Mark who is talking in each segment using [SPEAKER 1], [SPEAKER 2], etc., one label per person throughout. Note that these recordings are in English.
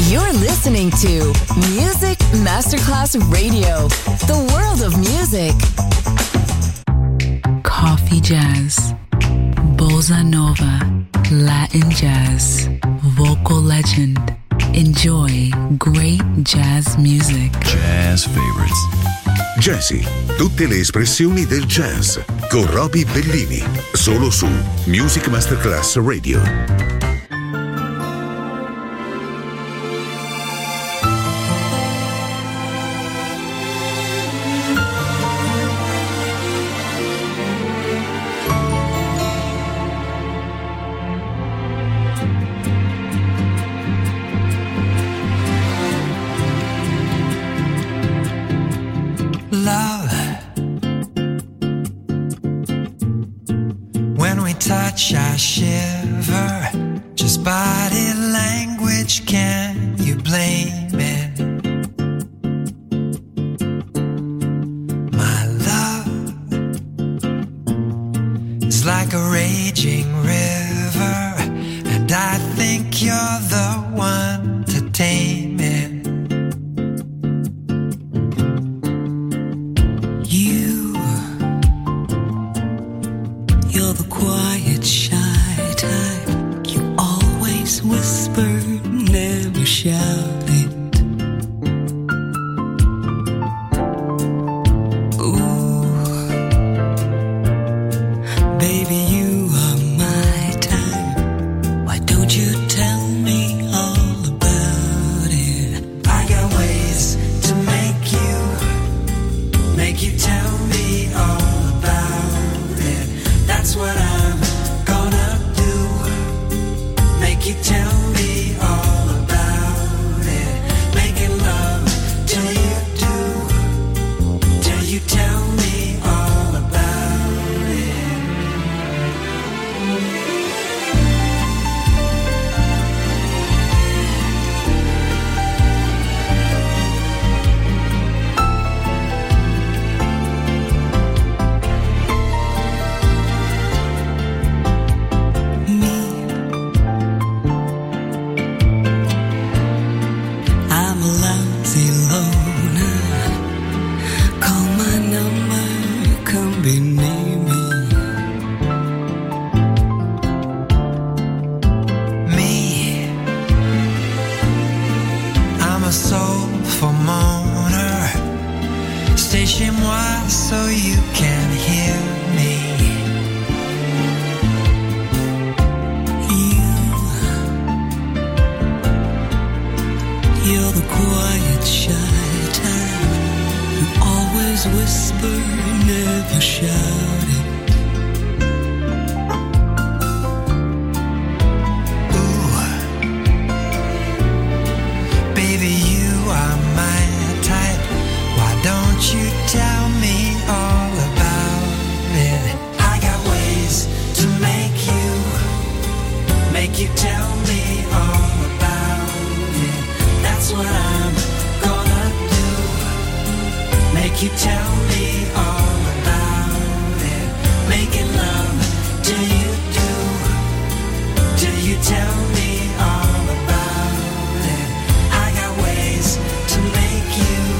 [SPEAKER 1] You're listening to Music Masterclass Radio, the world of music.
[SPEAKER 2] Coffee jazz, bossa nova, Latin jazz, vocal legend. Enjoy great jazz music.
[SPEAKER 3] Jazz favorites.
[SPEAKER 4] Jazzy, tutte le espressioni del jazz con Roby Bellini, solo su Music Masterclass Radio.
[SPEAKER 5] I shiver, just body language, can you blame it? My love is like a raging river, and I think you're the one to tame it. You're the quiet, shy type. You always whisper, never shout it. Ooh, baby, you are my type. Why don't you tell me all about it? I got ways to make you tell me all about it. That's what I'm gonna do. Make you tell me all about it. Making love till you do. Till you tell me all about it. So you can hear me. You're the quiet, shy type. You always whisper, never shout it. Ooh, baby, you are my type. Why don't you tell me all about it? I got ways to make you tell me all about it. That's what I'm gonna do. Make you tell me all about it. Making love till you do. Till you tell me all about it. I got ways to make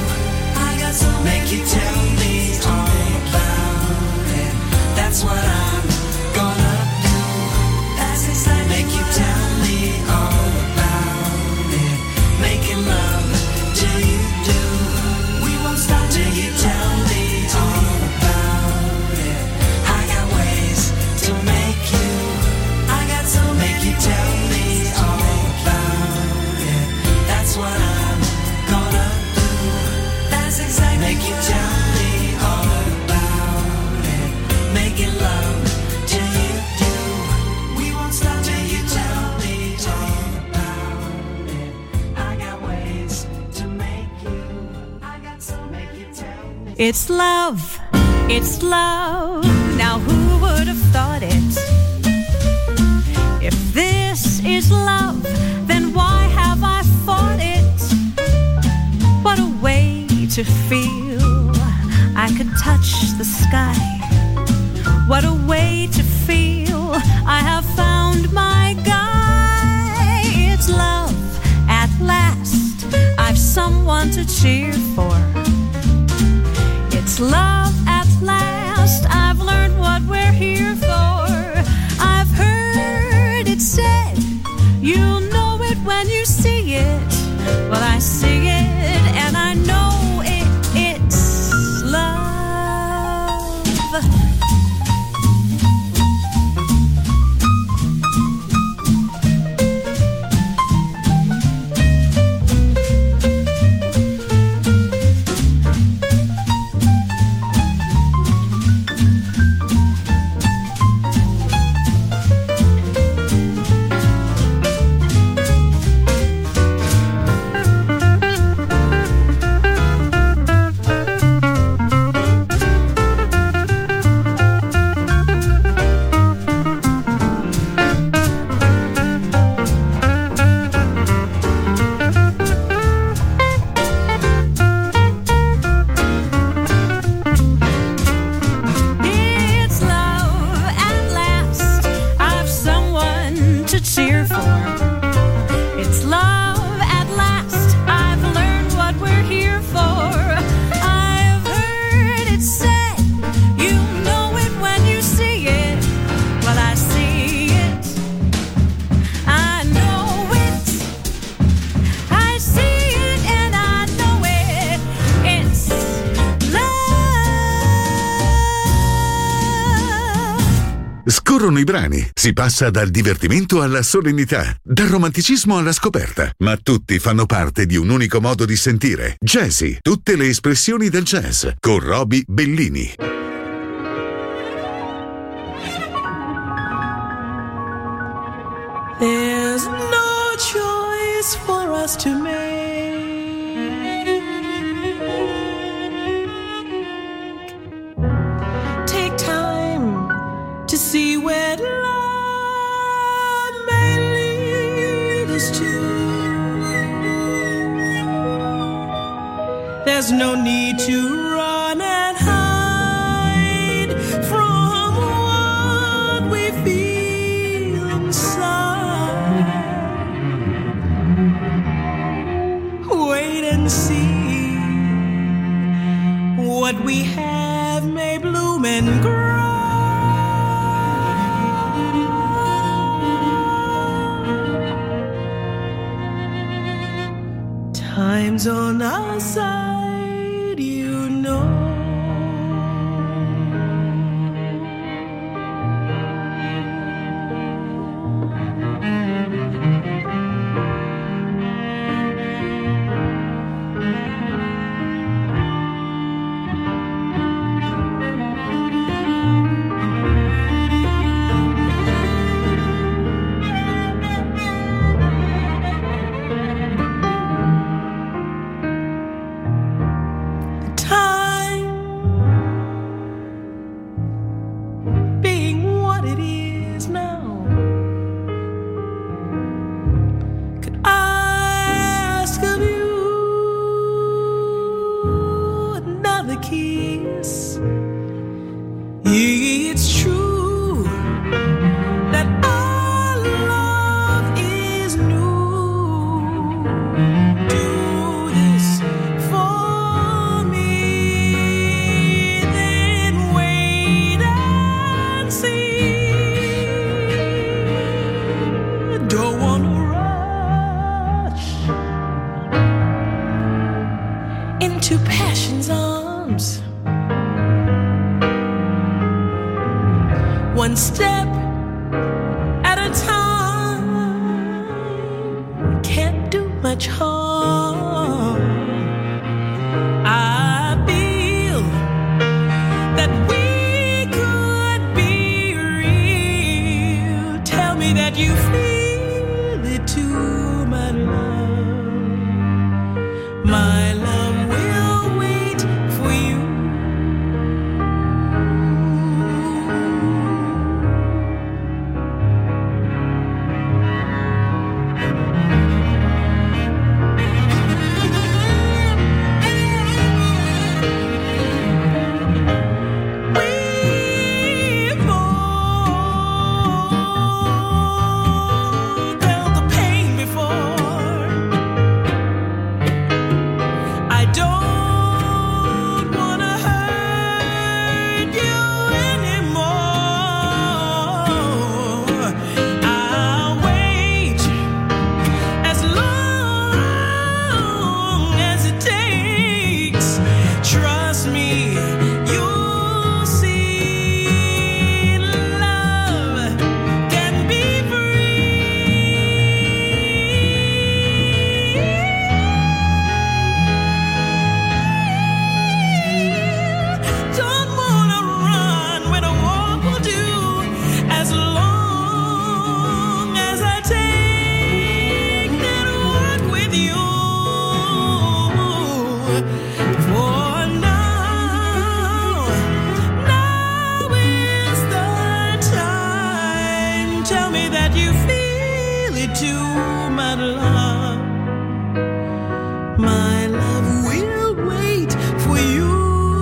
[SPEAKER 5] you tell me all about it. That's what I'm gonna do. That's exactly make you tell me all about it. Making love till you do. We won't stop till you tell me all about it. I got ways to make you. I got so make you tell me all about it. That's what I'm gonna do. That's exactly make you tell me all about it. Making love till you do. We won't stop till you tell me all about it. I got ways to make you. I got so make you tell me.
[SPEAKER 6] It's love. It's love. Now who would have thought it? If this is love, then why have I fought it? What a way to feel. I could touch the sky. What a way to feel. I have found my guy. It's love at last. someone to cheer for. It's love at last, I've learned what we're here for. I've heard it said, you'll know it when you see it. Well, I see it and I know it's love.
[SPEAKER 4] Scorrono i brani, si passa dal divertimento alla solennità, dal romanticismo alla scoperta, ma tutti fanno parte di un unico modo di sentire. Jazzy, tutte le espressioni del jazz, con Roby Bellini.
[SPEAKER 3] There's no choice for us to make. Take time to see where love may lead us to. There's no need to run and hide from what we feel inside. Wait and see. What we have may bloom and grow. Time's on our side, you know. One step at a time, can't do much harm. I feel that we could be real. Tell me that you feel it too, my love. My love will wait for you. you. For now is the time. Tell me that you feel it too, my love. My love will wait for you.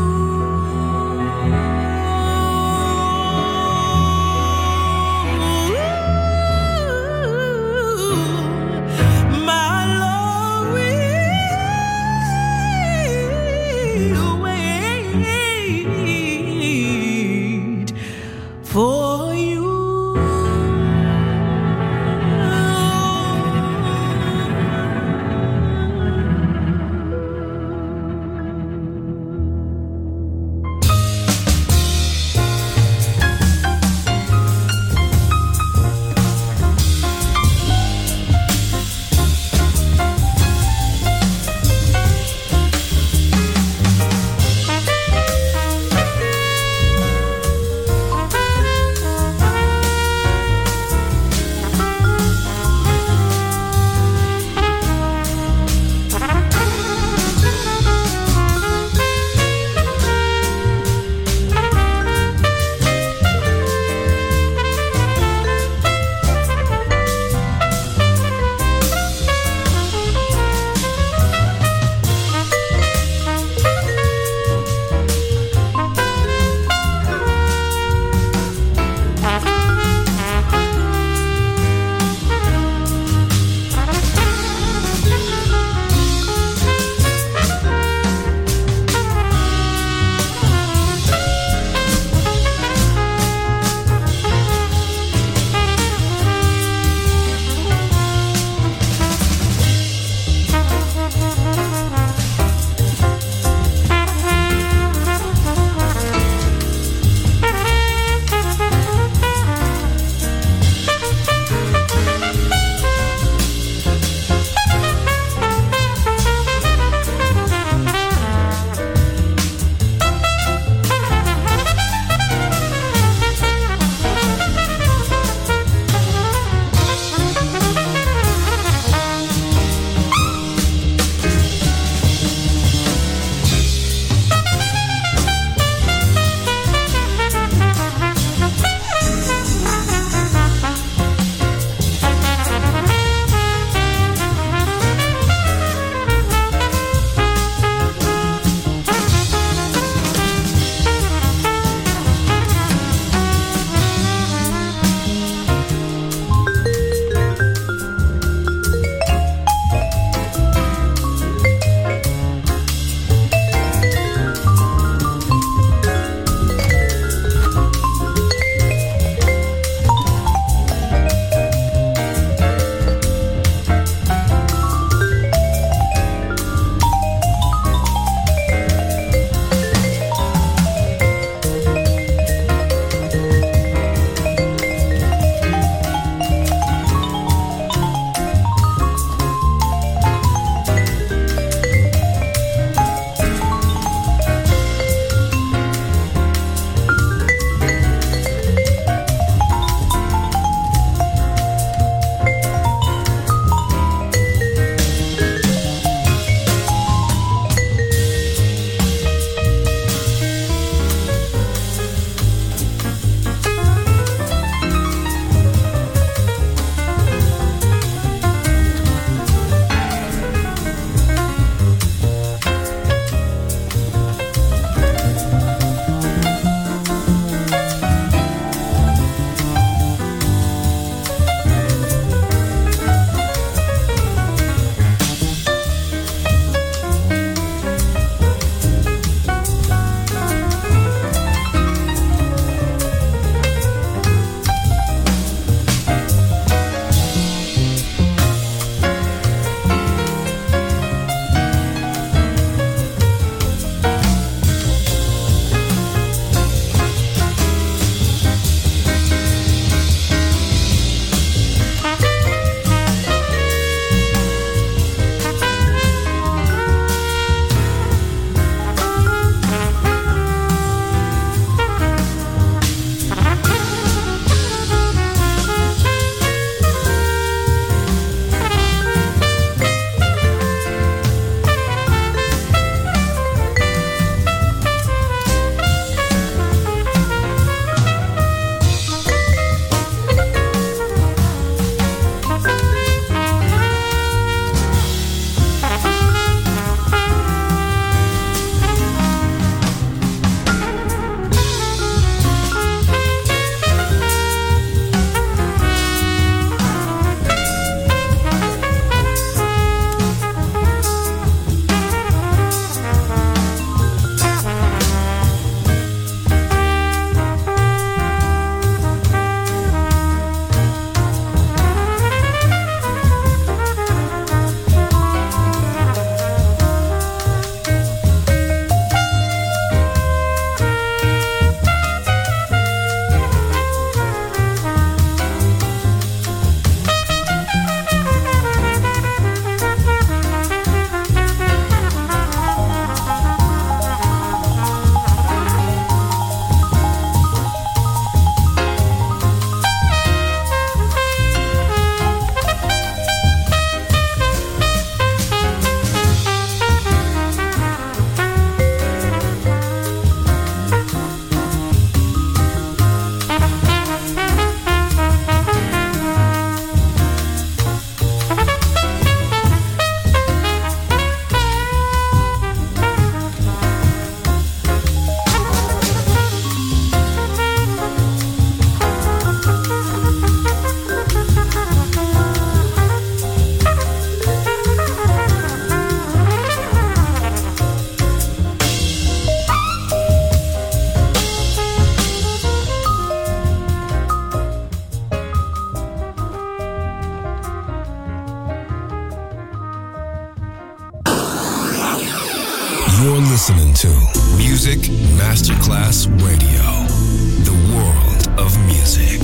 [SPEAKER 3] For you.
[SPEAKER 7] You're listening to Music Masterclass Radio, the world of music.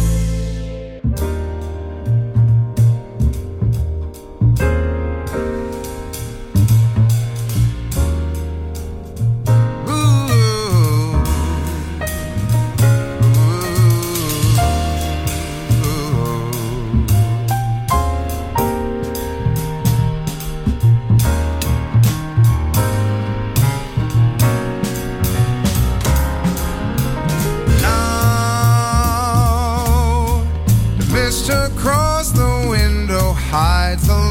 [SPEAKER 8] Across the window hides the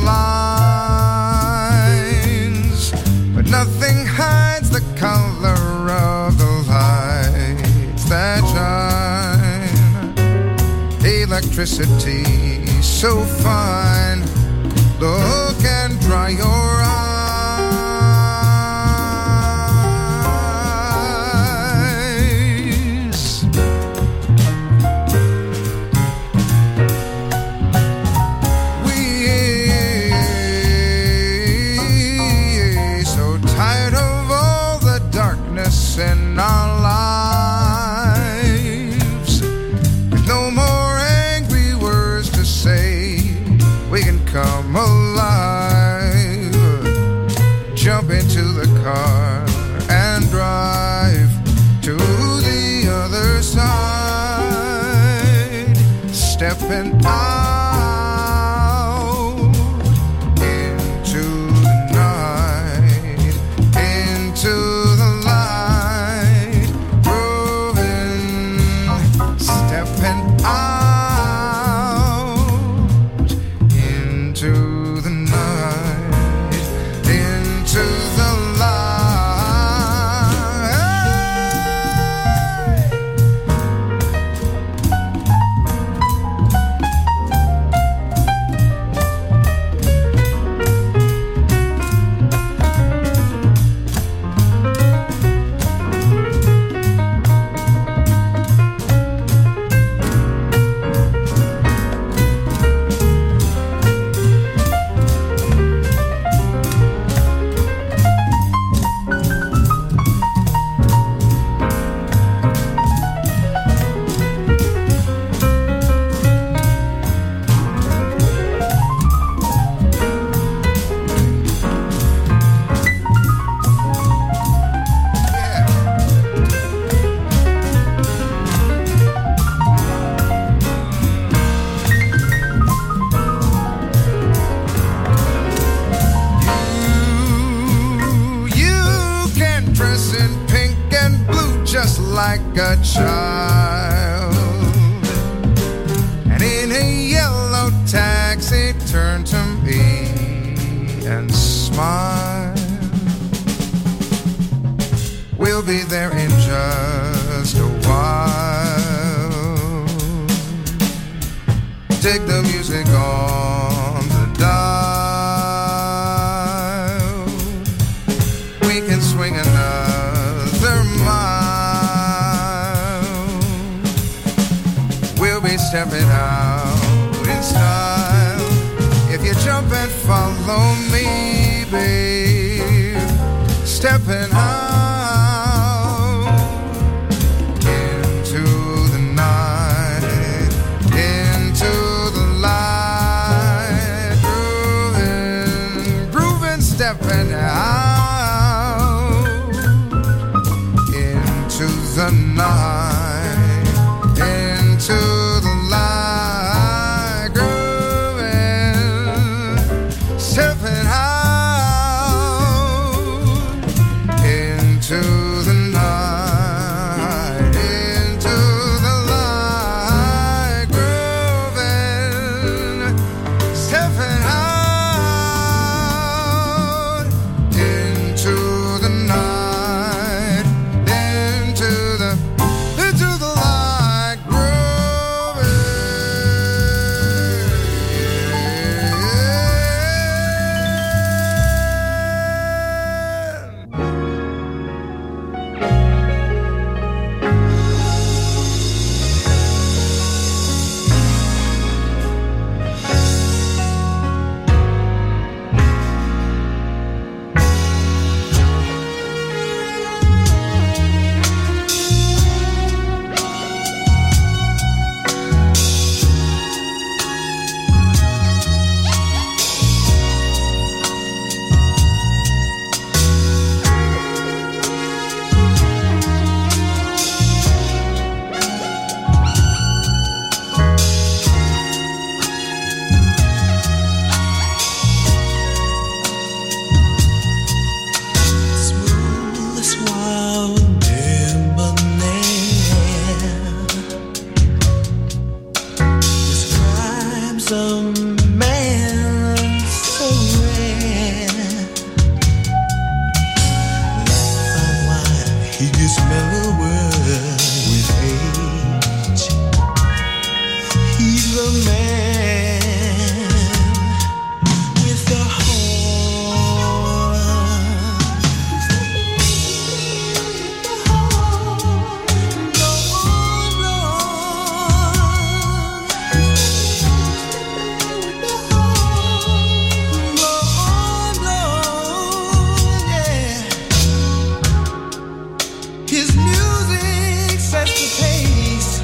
[SPEAKER 8] lines, but nothing hides the color of the lights that shine. Electricity so fine, look and dry your eyes. In our lives, with no more angry words to say, we can come alive. Jump into the car and drive to the other side, stepping out into the night, into the stepping out into the night, into the like a child, and in a yellow taxi turn to me and smile. We'll be there in just a while. Take the music on the dial. We can swing another mile. We'll be stepping out in style. If you jump and follow me, babe, stepping out into the night, into the light, grooving, grooving, stepping out into the night, into the light, grooving, stepping out into the night, into the light, grooving, stepping out into
[SPEAKER 3] this mellower with age. He's the man with the horn. His music sets the pace,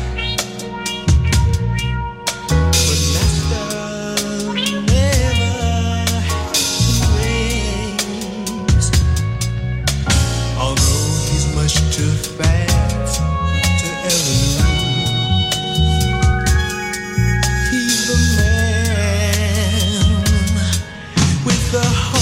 [SPEAKER 3] but Master never waits. Although he's much too fast to ever lose, he's the man with the heart.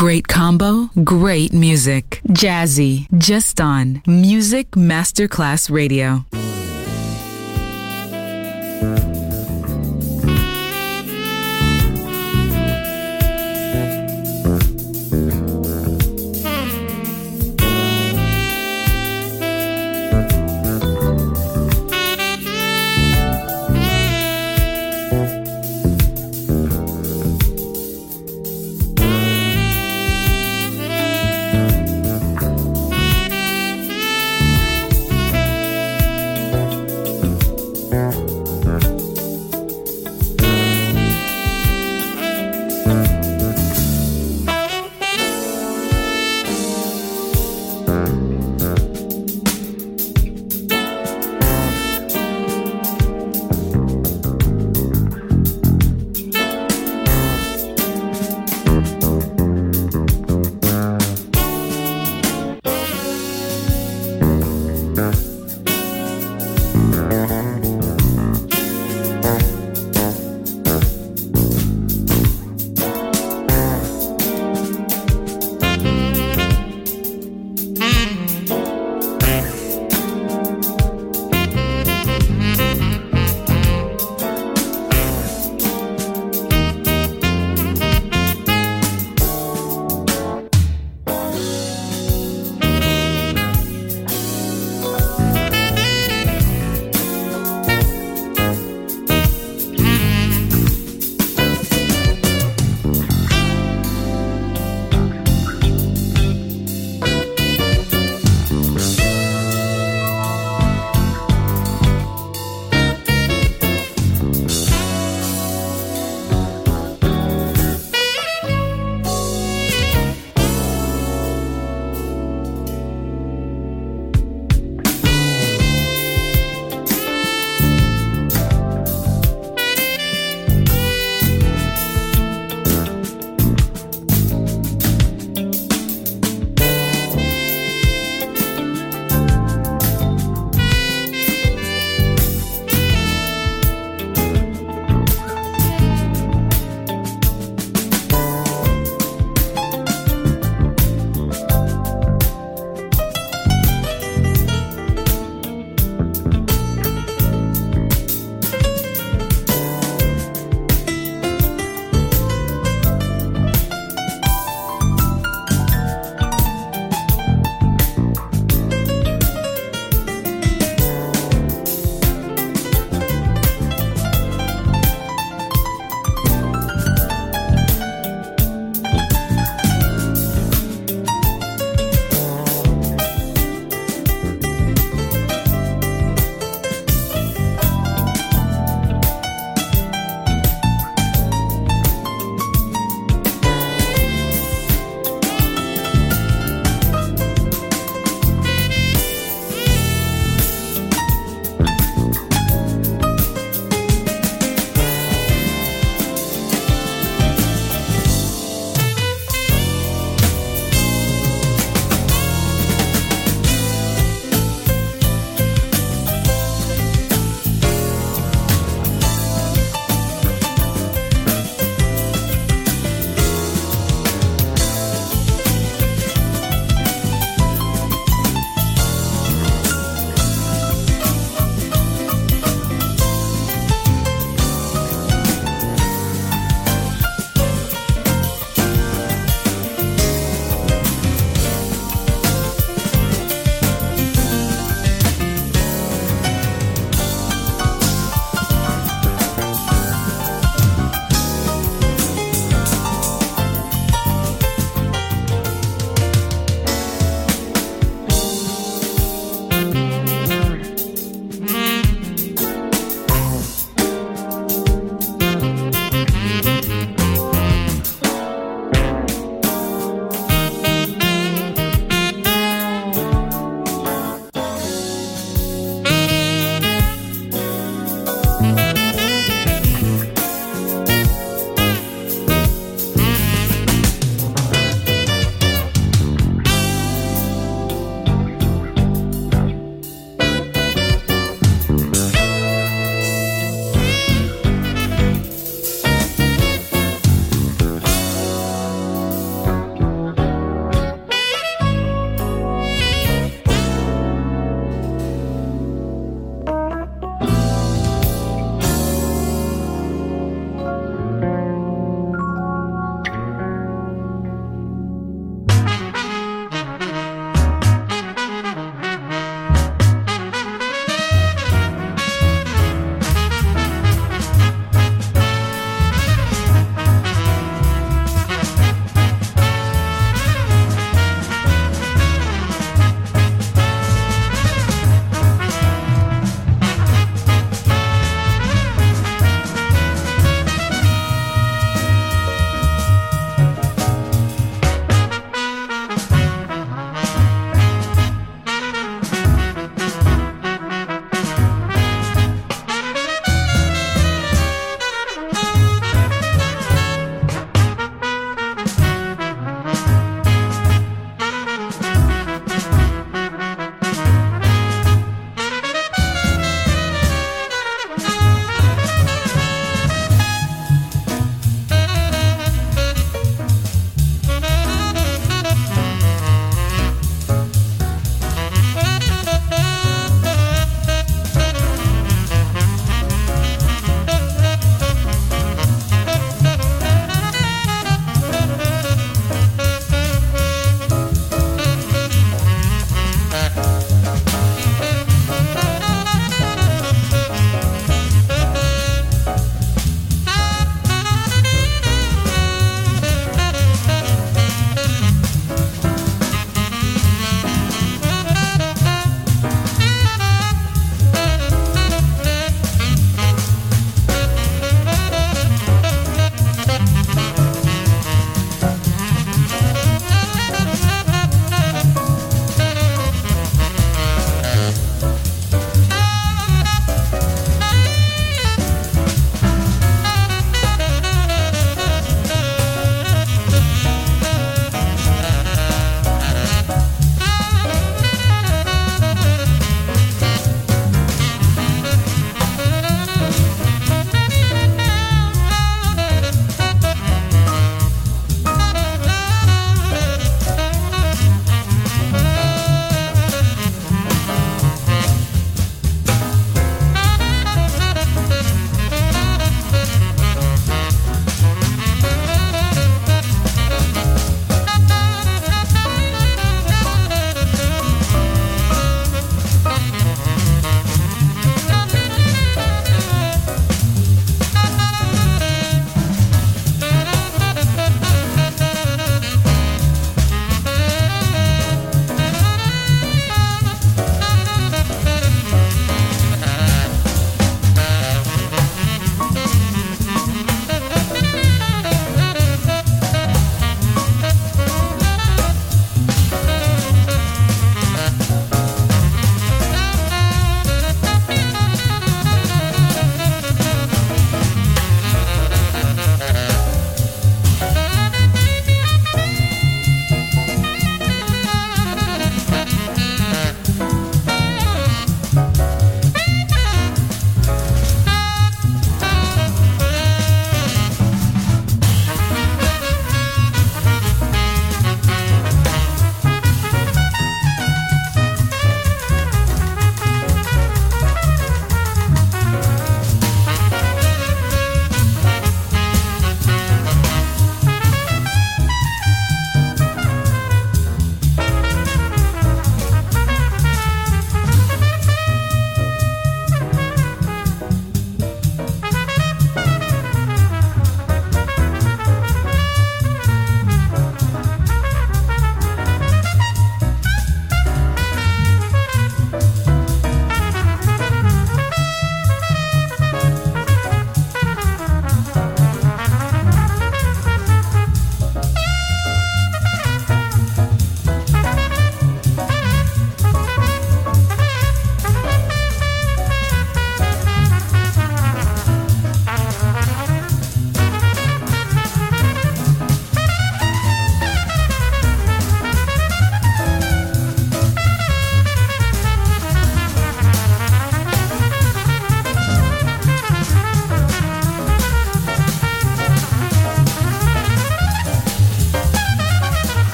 [SPEAKER 2] Great combo, great music. Jazzy, just on Music Masterclass Radio.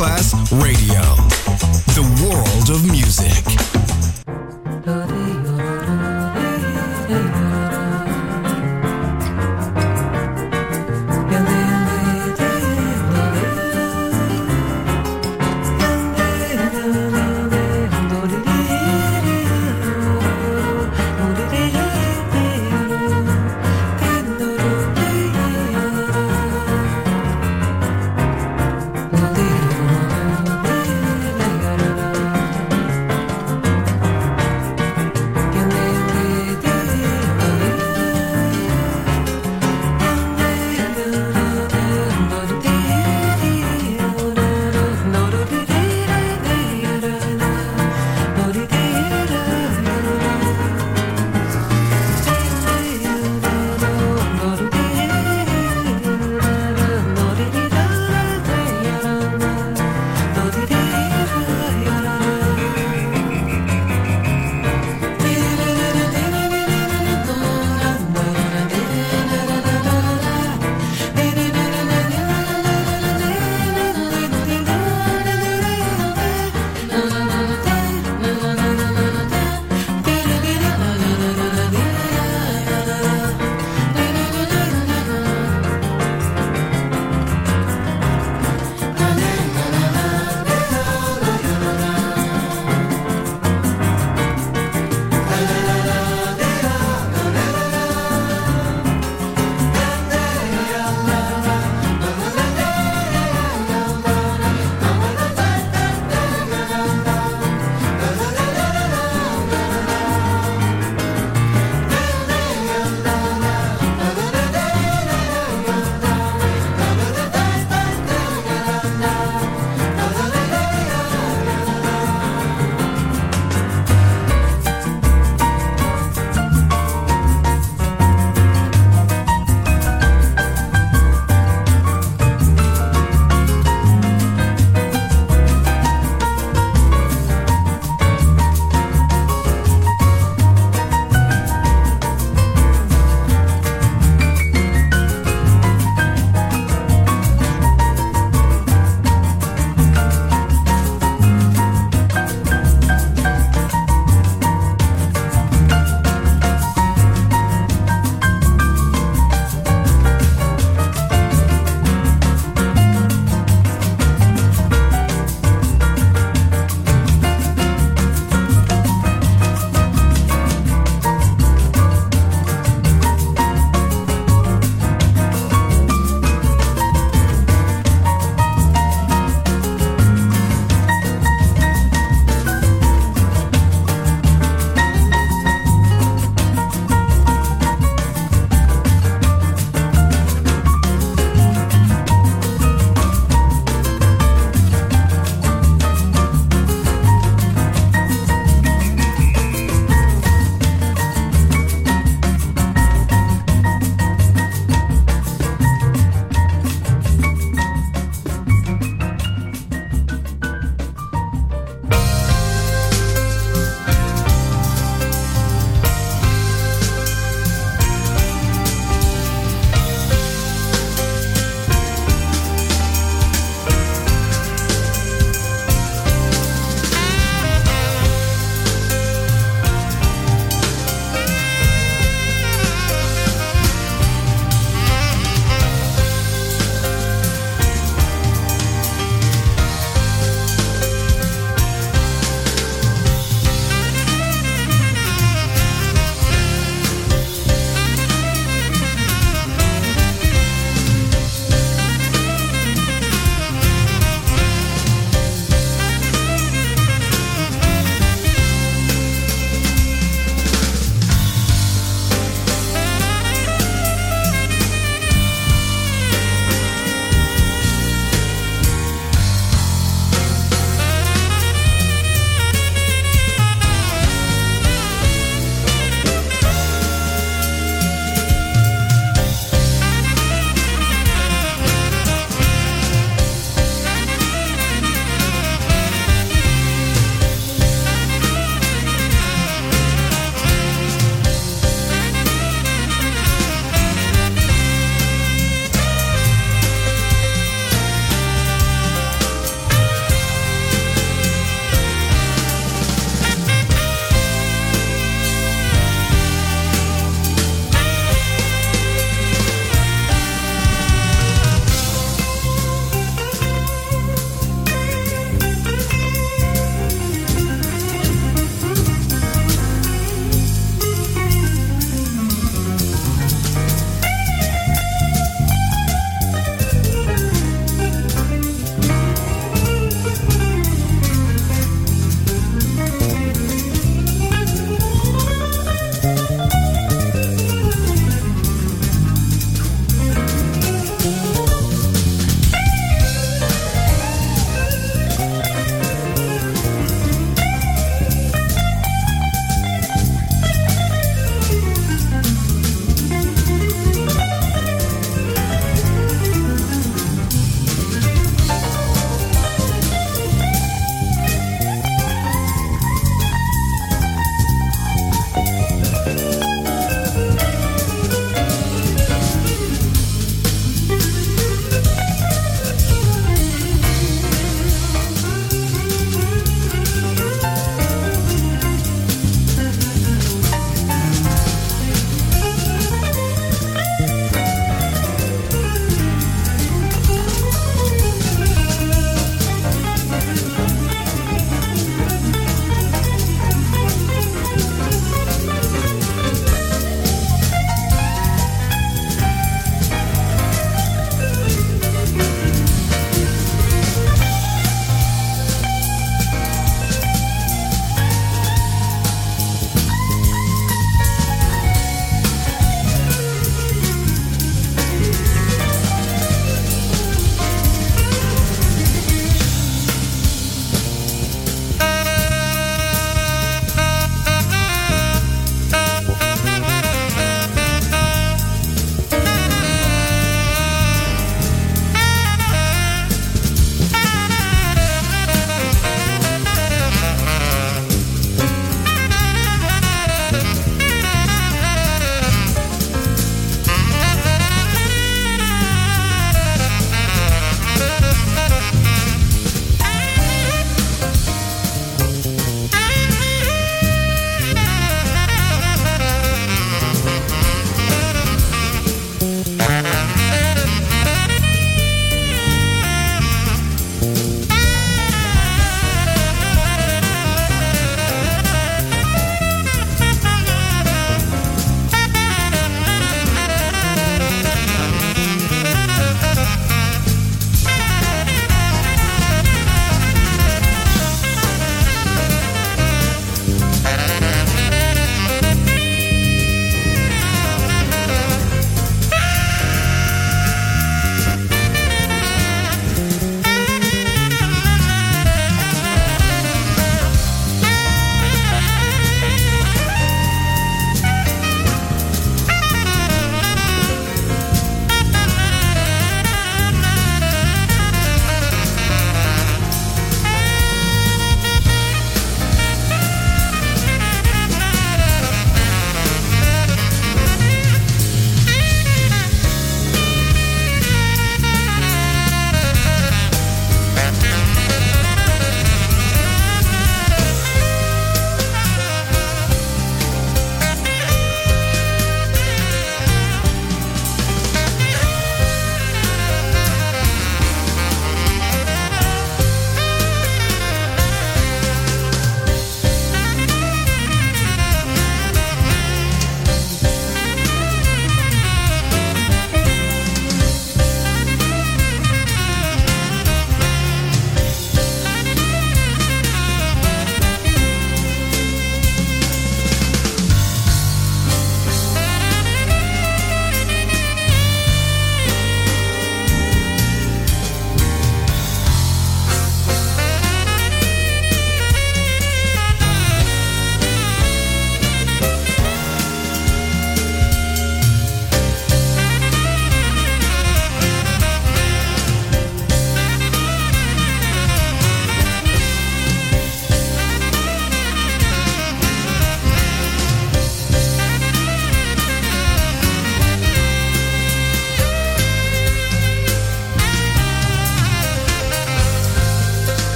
[SPEAKER 7] Masterclass Radio. The world of music.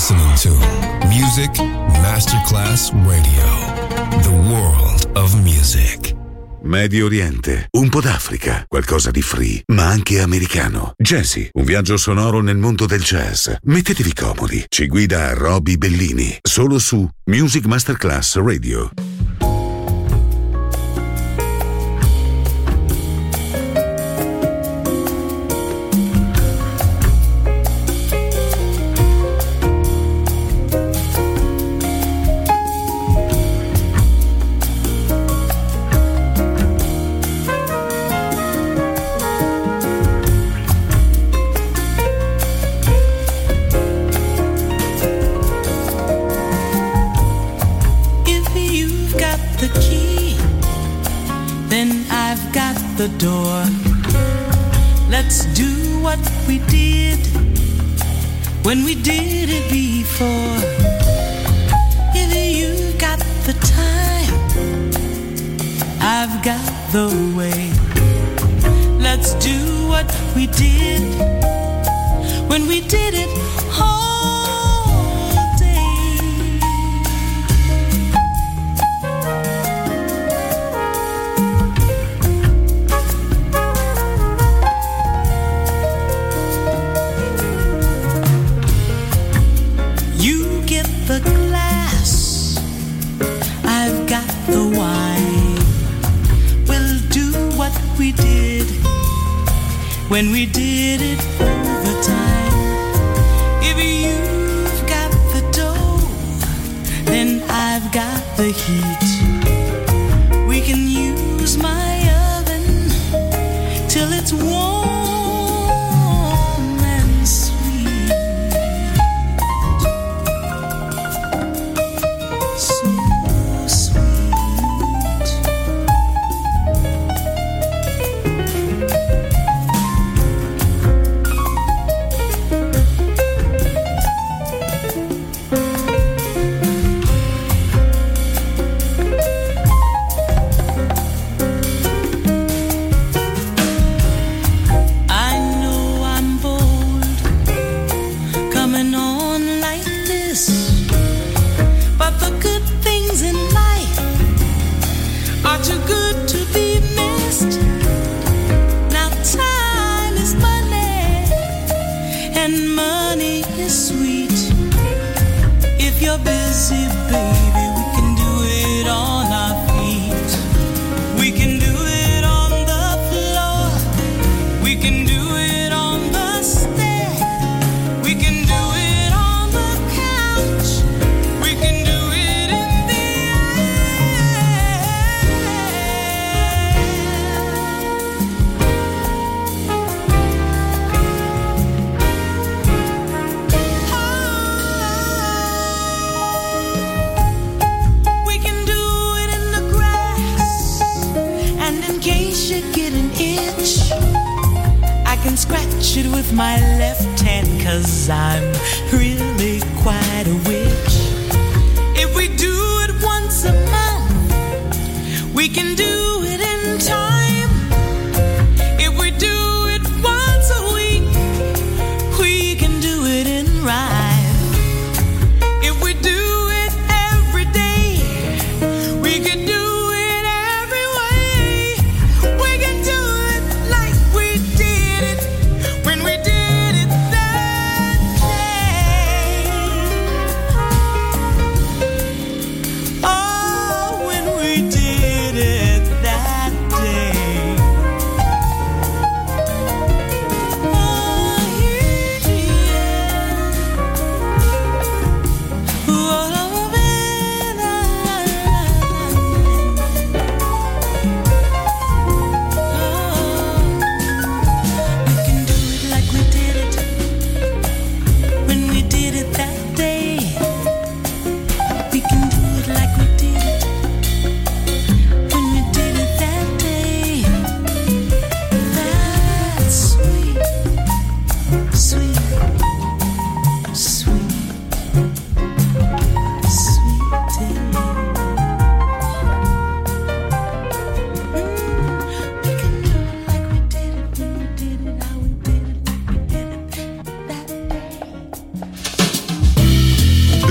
[SPEAKER 7] listening to Music Masterclass Radio. The world of music.
[SPEAKER 4] Medio Oriente, un po' d'Africa, qualcosa di free, ma anche americano. Jazzy, un viaggio sonoro nel mondo del jazz. Mettetevi comodi, ci guida Roby Bellini, solo su Music Masterclass Radio.
[SPEAKER 3] The door. Let's do what we did when we did it before. If you've got the time, I've got the way. Let's do what we did when we did it all day. The glass, I've got the wine. We'll do what we did when we did it over time. If you've got the dough, then I've got the heat. We can use my oven till it's warm. With my left hand, 'cause I'm really quite a witch. If we do it once a month, we can do it in time. If we do it once a week, we can do it in rhyme. If we do it every day, we can do it every way. We can do it like we did it when we did it that day. Oh, when we did it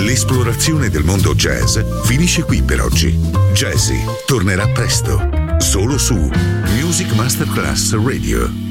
[SPEAKER 4] L'esplorazione del mondo jazz finisce qui per oggi. Jazzy tornerà presto, solo su Music Masterclass Radio.